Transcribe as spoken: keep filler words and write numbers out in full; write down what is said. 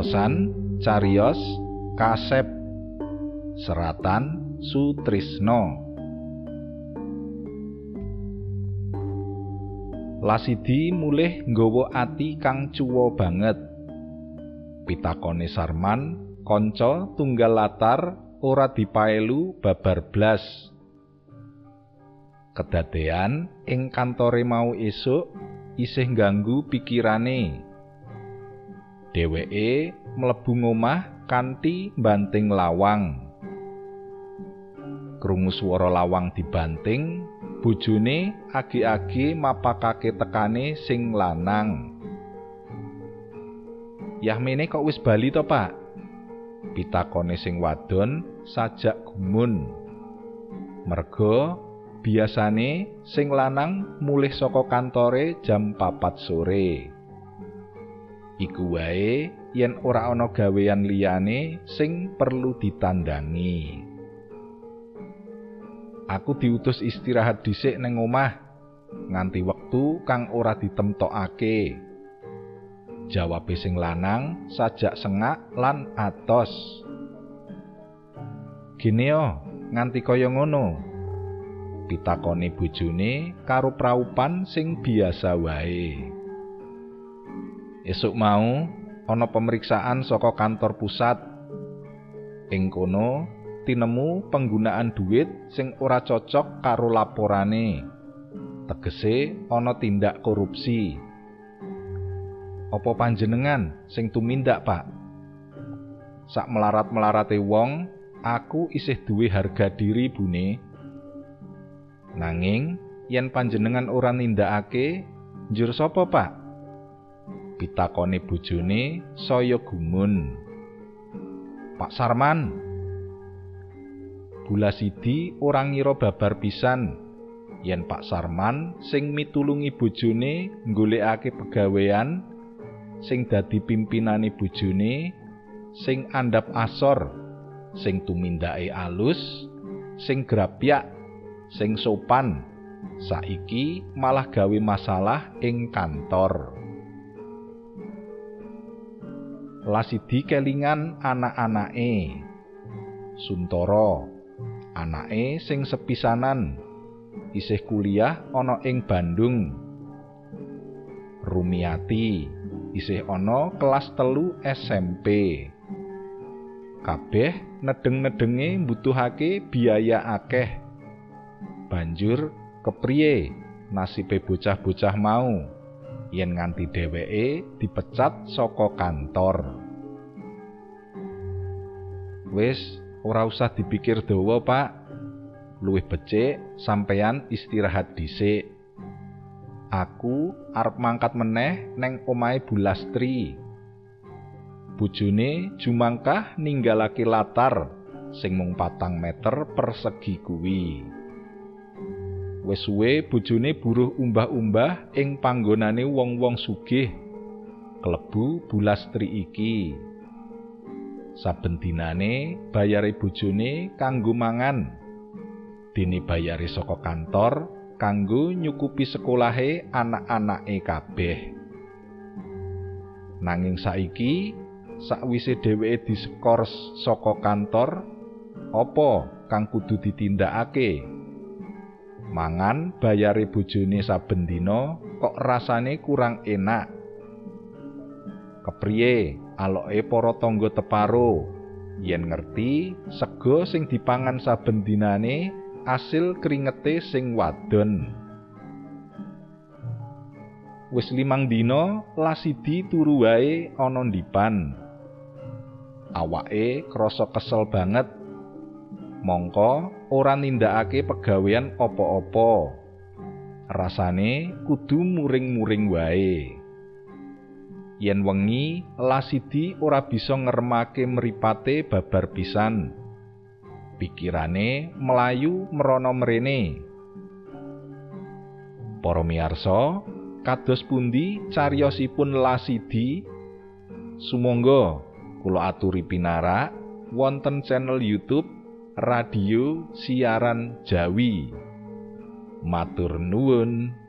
Waosan cariyos kasep seratan Sutrisno. Lasidi mulih nggawa ati kang cuwa banget. Pitakone Sarman, kanca tunggal latar ora dipaelu babar blas. Kedadean ing kantore mau esuk isih ngganggu pikirane. Dheweke mlebu ngomah kanthi banting lawang. Krungu swara lawang dibanting, bojone agi-agi mapakake tekane sing lanang. "Yahmene kok wis bali to, Pak?" pitakone sing wadon sajak gumun. Merga biasane sing lanang mulih saka kantore jam papat sore. Iku wae yen ora ana gawean liyane sing perlu ditandangi. "Aku diutus istirahat dhisik neng omah nganti wektu kang ora ditemtokake," jawabe sing lanang sajak sengak lan atos. "Gene yo, nganti kaya ngono?" pitakone bojone karo praupan sing biasa wae. "Esuk mau ana pemeriksaan saka kantor pusat. Ing kono tinemu penggunaan duit sing ora cocok karo laporane. Tegese ana tindak korupsi." "Apa panjenengan sing tumindak, Pak?" "Sak melarat-melarate wong, aku isih duwe harga diri, Bune. Nanging yen panjenengan ora nindakake, njur sapa, Pak?" pitakone bojone saya gumun. "Pak Sarman." Bulasidi ora ngira babar pisan yen Pak Sarman sing mitulungi bojone nggolekake pegawean, sing dadi pimpinane bojone, sing andhap asor, sing tumindake alus, sing grapyak, sing sopan, saiki malah gawe masalah ing kantor. Lasidi kelingan anak-anake. Suntara, anake sing sepisanan, isih kuliah ana ing Bandung. Rumiati isih ana kelas telu S M P. Kabeh nedeng-nedenge mbutuhake biaya akeh. Banjur kepriye nasibe bocah-bocah mau yen nganti dheweke dipecat saka kantor? "Wis ora usah dipikir dawa, Pak. Luwih becik sampeyan istirahat dhisik. Aku arep mangkat meneh neng omahe Bulastri." Bojone jumangkah ninggalake latar sing mung patang meter persegi kuwi. Wis suwe bojone buruh umbah-umbah ing panggonane wong-wong sugih klebu Bulastri iki. Saben dinane bayare bojone kanggo mangan, dene bayare saka kantor kanggo nyukupi sekolahe anak-anake kabeh. Nanging saiki sakwise dheweke disekor saka kantor, apa kang kudu ditindakake? Mangan bayare bojone saben dina kok rasane kurang enak. Kepriye aloke para tangga teparo yen ngerti sega sing dipangan saben dinane asil kringete sing wadon? Wis limang dina Lasidi turu wae ana ndipan. Awake krasa kesel banget. Mongko ora nindakake pegawean apa-apa. Rasane kudu muring-muring wae. Yen wengi Lasidi ora bisa ngremake mripate babar pisan. Pikirane melayu merono mrene. Para miyarsa, kados pundi cariyosipun Lasidi? Sumangga kula aturi pinarak wonten channel YouTube Radio Siaran Jawi. Matur nuwun.